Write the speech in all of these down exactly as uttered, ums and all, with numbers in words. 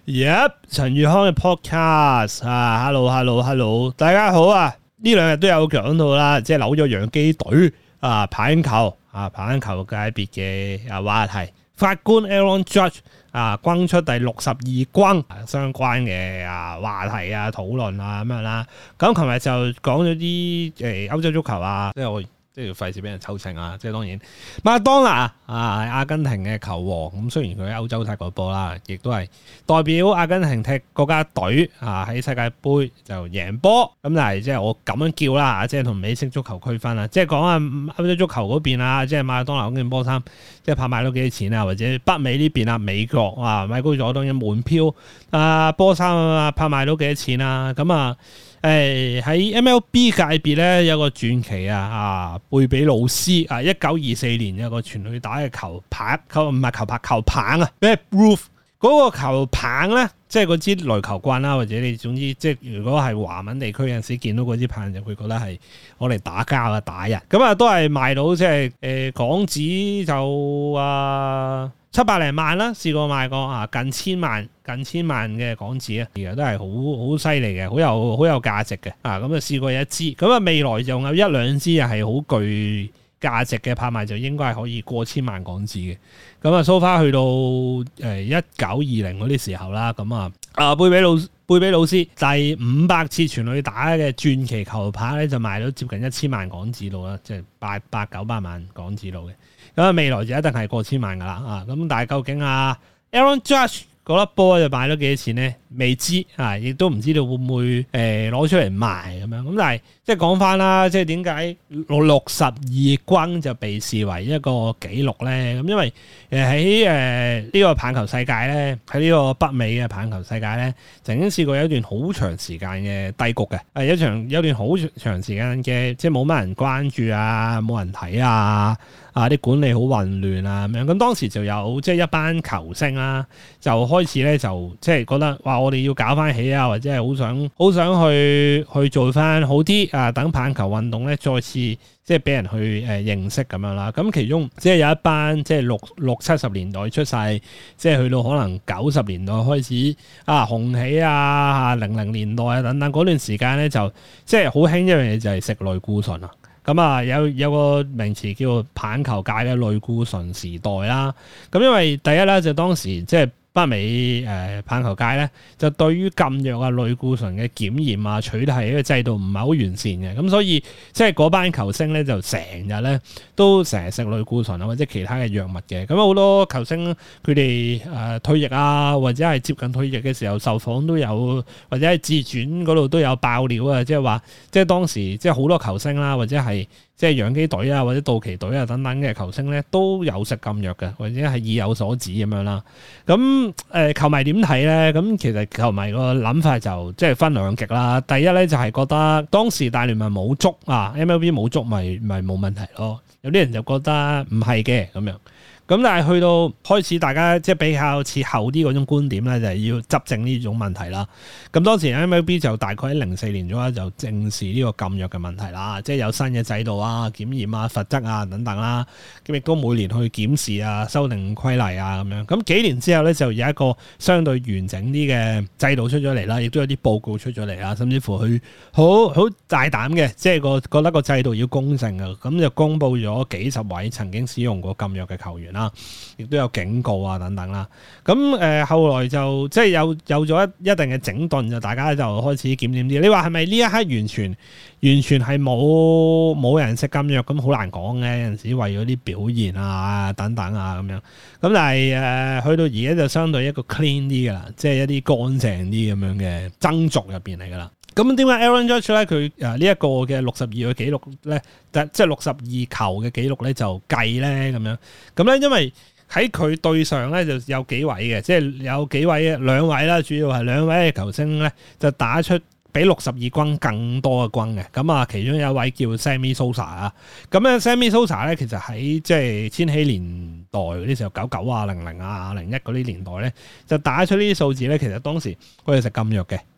Yep， 陳宇康嘅 podcast 啊 ，hello hello hello， 大家好啊！呢兩日都有講到啦，即係紐約洋基隊啊，棒球啊，棒球界別嘅啊話題，法官 Aaron Judge 啊，轟出第六十二轟相關嘅啊話題啊討論啊咁樣啦。咁琴日就講咗啲誒歐洲足球啊，即係我。即係要費事俾人抽秤啊！即係當然，麥當勞啊，阿根廷嘅球王咁，雖然佢喺歐洲踢過波啦，亦都係代表阿根廷踢國家隊啊喺世界盃就贏波。咁但係即係我咁樣叫啦，即係同美式足球區分啦。即係講下歐洲足球嗰邊啊，即係麥當勞嗰件波衫，即係拍賣到幾多錢啊？或者北美呢邊啊，美國啊買高咗當然門票啊波衫啊拍賣到幾多錢啊？咁啊〜誒喺 M L B 界別咧有個傳奇啊，啊貝比魯斯啊，一九二四年有個全壘打嘅球拍，球唔係球拍球棒啊 Babe Ruth 嗰個球棒咧，即係嗰支壘球棍啦，或者你總之即係如果係華文地區有陣時見到嗰支棒就會覺得係我嚟打交啊打人，咁啊都係賣到即係誒港紙就啊七百零萬啦，試過賣過啊近千萬。近千萬嘅港紙啊，而家都係好好犀利嘅，好有好有價值嘅啊！咁啊試過一支，咁啊未來仲有一兩支又係好具價值嘅拍賣，就應該係可以過千萬港紙嘅。咁啊，so far去到誒一九二零嗰啲時候啦，咁啊啊貝比魯貝比魯斯第五百次全壘打嘅傳奇球拍咧，就賣到接近一千萬港紙度啦，即係八百九百萬港紙度嘅。咁啊未來就一定係過千萬噶啦啊！咁但係究竟啊 Aaron Judge嗰粒波就買咗幾多錢咧？未知啊，亦都唔知道會唔會誒攞、呃、出嚟賣咁樣。咁但係即係講翻啦，即係點解六六十二轟就被視為一個紀錄咧？咁因為誒喺誒呢個棒球世界咧，喺呢個北美嘅棒球世界咧，曾經試過有一段好長時間嘅低谷嘅，係一場有一段好長時間嘅，即係冇乜人關注啊，冇人睇啊。啊！啲管理好混亂啊咁樣，咁當時就有即係一班球星啦，就開始咧就即係覺得哇，我哋要搞翻起啊，或者係好想好想去去做翻好啲啊，等棒球運動咧再次即係俾人去誒認識咁樣啦。咁其中即係有一班即係六六七十年代出世，即係去到可能九十年代開始啊紅起啊，零零年代啊等等嗰段時間咧，就即係好興一樣嘢就係食類固醇啊。咁啊，有有個名詞叫做棒球界嘅類固醇時代啦。咁因為第一咧就當時即係北美誒棒球界咧，就對於禁藥啊類固醇嘅檢驗啊取締呢個制度唔係好完善嘅，咁所以即係嗰班球星咧就成日咧都成日食類固醇啊或者其他嘅藥物嘅。咁好多球星佢哋誒退役啊或者係接近退役嘅時候受訪都有，或者係自傳嗰度都有爆料啊，即係話即係當時即係好多球星啦或者係。即係洋基隊啊，或者道奇隊啊等等嘅球星咧，都有食禁藥嘅，或者係意有所指咁樣啦。咁誒、呃，球迷點睇咧？咁其實球迷個諗法就即係分兩極啦。第一咧就係、是、覺得當時大聯盟冇捉啊 ，M L B 冇捉咪咪冇問題咯。有啲人就覺得唔係嘅咁樣。咁但係去到開始大家即係比較似後啲嗰種觀點咧，就係、是、要執正呢種問題啦。咁當時 M L B 就大概喺零四年左右就正視呢個禁藥嘅問題啦，即係有新嘅制度啊、檢驗啊、罰則啊等等啦。咁亦都每年去檢視啊、修訂規例啊咁樣。咁幾年之後咧，就有一個相對完整啲嘅制度出咗嚟啦，亦都有啲報告出咗嚟啦，甚至乎佢好好大膽嘅，即係個覺得個制度要公正啊，咁就公布咗幾十位曾經使用過禁藥嘅球員啦，亦都有警告啊等等啦。咁誒、呃、後來就即係有有咗一一定嘅整頓，就大家就開始檢點啲。你話係咪呢一刻完全完全係冇冇人食禁藥？咁好難講嘅，有陣時為咗啲表現啊等等啊咁樣。咁但係誒、呃、去到而家就相對一個 clean 啲嘅啦，即係一啲乾淨啲咁樣嘅爭逐入邊嚟噶啦。咁點解 Aaron Judge 咧佢誒呢一個嘅六十二嘅紀錄咧，即係六十二球嘅紀錄咧就計咧咁樣？咁咧因為喺佢對上咧就有幾位嘅，即係有幾位兩位啦，主要係兩位嘅球星咧就打出比六十二轟更多嘅轟嘅。咁啊，其中有一位叫 Sammy Sosa 啊。咁咧 Sammy Sosa 咧其實喺即係千禧年代嗰啲時候，九九啊、零零啊、零一嗰啲年代咧就打出呢啲數字咧。其實當時佢係食禁藥嘅。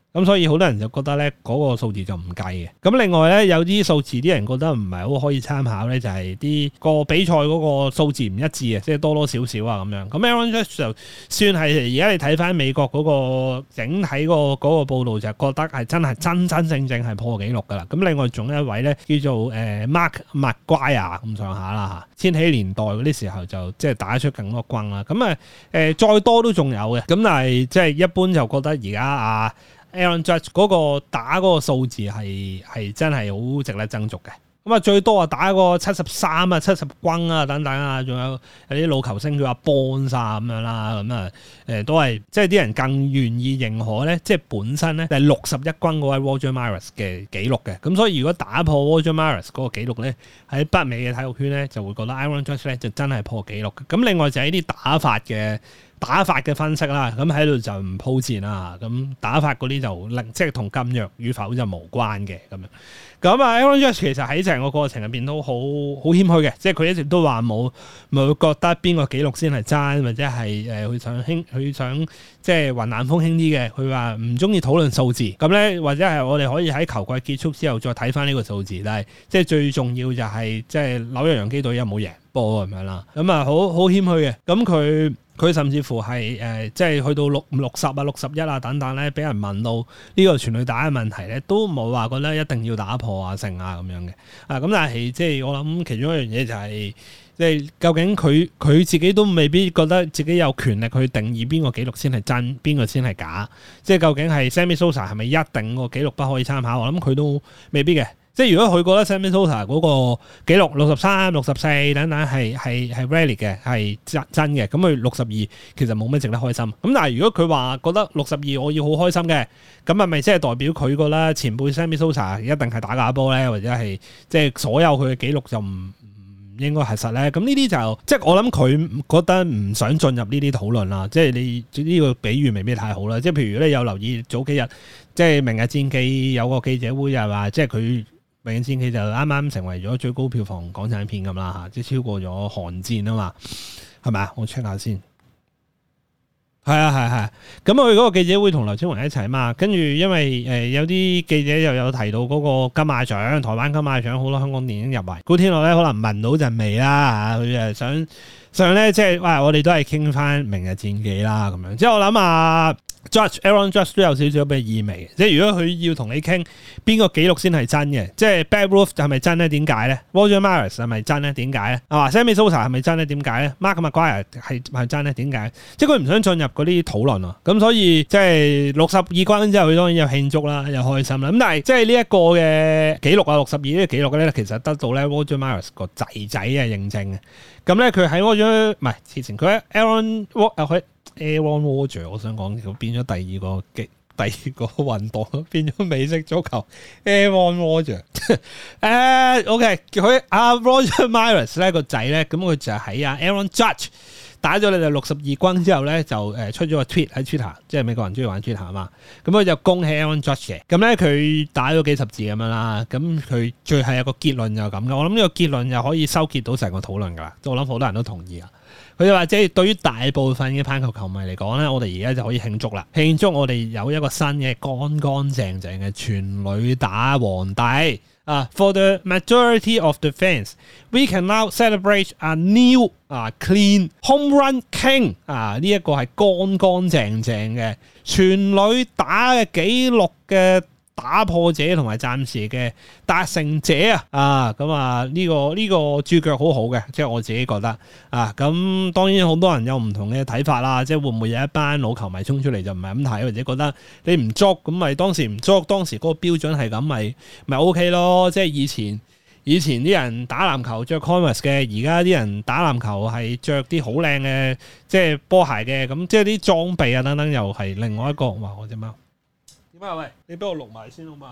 咁所以好多人就覺得咧嗰個數字就唔計嘅。咁另外咧有啲數字啲人覺得唔係好可以參考咧，就係啲個比賽嗰個數字唔一致啊，即係多多少少啊咁樣。咁 Aaron Judge 就算係而家你睇翻美國嗰個整體個嗰個報導，就覺得係真係真真正正係破紀錄噶啦。咁另外仲有一位咧叫做誒 Mark McGwire 咁上下啦嚇，千禧年代嗰啲時候就即係打出更多轟啦。咁啊誒再多都仲有嘅，咁但係即係一般就覺得而家啊〜Aaron Judge 嗰個打嗰個數字係係真係好值得爭逐嘅。咁啊最多啊打個七十三啊七十轟啊等等啊，仲有有啲老球星叫阿 Bonds 啊咁樣啦，咁啊誒都係即係啲人更願意認可咧，即係本身咧係六十一轟嗰位 Roger Maris 嘅紀錄嘅。咁所以如果打破 Roger Maris 嗰個紀錄咧，喺北美嘅體育圈咧就會覺得 Aaron Judge 咧就真係破紀錄嘅。咁另外就係啲打法嘅。打法嘅分析啦，咁喺度就唔鋪墊啦。咁打法嗰啲就令即係同禁藥與否就無關嘅咁樣。咁啊 Aaron Judge 其實喺成個過程入邊都好好謙虛嘅，即係佢一直都話冇冇覺得邊個紀錄先係真，或者係誒佢想輕佢想即係雲淡風輕啲嘅。佢話唔中意討論數字，咁咧或者係我哋可以喺球季結束之後再睇翻呢個數字，但係即係最重要就係即係紐約洋基隊有冇贏波咁樣啦。咁啊好好謙虛嘅，咁佢。佢甚至乎係誒、呃，即係去到六六十啊、六十一啊等等咧，俾人問到呢個全壘打嘅問題咧，都冇話覺得一定要打破啊、成啊咁樣嘅。啊，咁但係即係我諗其中一樣嘢就係、是，即係究竟佢佢自己都未必覺得自己有權力去定義邊個紀錄先係真，邊個先係假。即係究竟係 Sammy Sosa 係咪一定個紀錄不可以參考？我諗佢都未必嘅。即係如果佢覺得 Sammy Sosa 嗰個紀錄六十三、六十四等等係係係 valid 嘅，係真真嘅，咁佢六十二其實冇咩值得開心。咁但係如果佢話覺得六十二我要好開心嘅，咁係咪即係代表佢覺得前輩 Sammy Sosa 一定係打假波咧，或者係即係所有佢嘅紀錄就唔唔應該係實咧？咁呢啲就即係我諗佢覺得唔想進入呢啲討論啦。即係你呢個比喻未必太好啦。即係譬如你有留意早幾日，即係明日戰記有個記者會就係話，即係佢。明日戰記就啱啱成為咗最高票房港產片咁啦嚇，即係超過咗《寒戰》啊嘛，係咪啊？我 check 下先，係啊係係。咁佢嗰個記者會同劉青雲一齊啊嘛，跟住因為誒、呃、有啲記者又有提到嗰個金馬獎，台灣金馬獎好多香港電影入圍，古天樂咧可能聞到陣味啦嚇，佢誒想想咧即係哇，我哋都係傾翻明日戰記啦咁樣，即係我諗啊。Judge Aaron Judge 都有少少嘅意味，即係如果佢要同你傾邊個紀錄先係真嘅，即係 Babe Ruth 係咪真咧？點解咧 Roger Maris 係咪真咧？點解咧？啊 Sammy Sosa 係咪真咧？點解咧 Mark McGwire 係係真咧？點解？即係佢唔想進入嗰啲討論啊，咁所以即係六十二轟之後，佢當然有慶祝啦，有開心啦。咁但係即係呢一個嘅紀錄啊，六十二呢個紀錄咧，其實得到咧 Roger Maris 個仔仔嘅認證嘅。咁咧佢喺 Roger 唔係之前佢喺 Aaron 佢。Aaron Rodgers 我想講佢變咗第二個第二個運動變咗美式足球 Aaron Rodgers 誒 OK 佢阿 Roger Maris 咧個仔咧，咁佢就喺阿 Aaron Judge 打咗你哋六十二轟之後咧，就誒出咗個 tweet 喺 Twitter， 即係美國人中意玩 Twitter 啊嘛，咁佢就恭喜 Aaron Judge 嘅，咁咧佢打咗幾十字咁樣啦，咁佢最後有個結論就咁嘅，我諗呢個結論就可以收結到成個討論噶啦，我諗好多人都同意啊。佢就話即係對於大部分嘅棒球球迷嚟講咧，我哋而家就可以慶祝啦，慶祝我哋有一個新嘅乾乾淨淨嘅全壘打皇帝啊 ！For the majority of the fans, we can now celebrate a new 啊 clean home run king 啊！呢一個係乾乾淨淨嘅全壘打嘅紀錄嘅打破者同埋暫時嘅達成者啊！啊咁啊呢個呢、這個注腳好好嘅，即係我自己覺得啊。咁當然好多人有唔同嘅睇法啦，即係會唔會有一班老球迷衝出嚟就唔係咁睇，或者覺得你唔捉咁咪當時唔捉，當時嗰個標準係咁咪咪 OK 咯。即係以前以前啲人打籃球着 Converse 嘅，而家啲人打籃球係着啲好靚嘅即係波鞋嘅，咁即係啲裝備啊等等又係另外一個。哇！我隻貓。喂，你俾我錄埋先好嘛？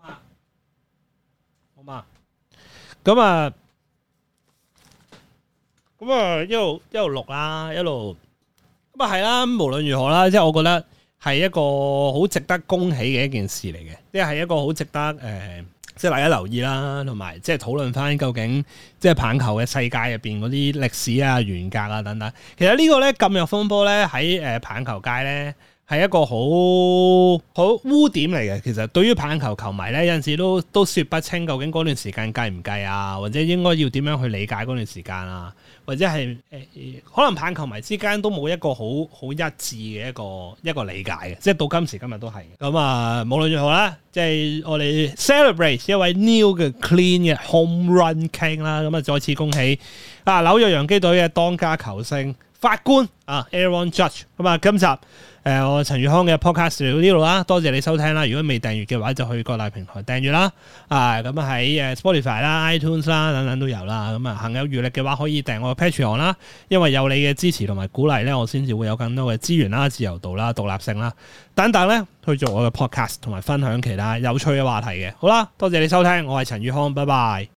好嘛？咁啊，咁啊，一路一路錄啦，一路咁啊係啦。無論如何啦，即係我覺得係一個好值得恭喜嘅一件事嚟嘅，即係一個好值得誒、呃，即係大家留意啦，同埋即係討論翻究竟即係棒球嘅世界入邊嗰啲歷史啊、沿革啊等等。其實呢個咧禁藥風波咧喺誒棒球界咧。 係一個好好污點嚟嘅。其實對於棒球球迷咧，有陣時都都說不清究竟嗰段時間計唔計啊，或者應該要點樣去理解嗰段時間啊，或者係誒、呃、可能棒球迷之間都冇一個好好一致嘅一個一個理解嘅，即係到今時今日都係。咁啊，無論如何啦，即係我哋 celebrate 一位 new 嘅 clean 嘅 home run king 啦，咁啊再次恭喜啊紐約洋基隊嘅當家球星法官啊 Aaron Judge。咁啊今集誒、呃、我陳宇康嘅 podcast 嚟到呢度啦，多謝你收聽啦。如果未訂閱嘅話，就去各大平台訂閱啦。啊咁啊喺誒 Spotify 啦、iTunes 啦等等都有啦。咁啊行有餘力嘅話，可以訂我嘅 Patreon 啦。因為有你嘅支持同埋鼓勵咧，我先至會有更多嘅資源啦、自由度啦、獨立性啦等等咧，去做我嘅 podcast 同埋分享其他有趣嘅話題嘅。好啦，多謝你收聽，我係陳宇康，拜拜。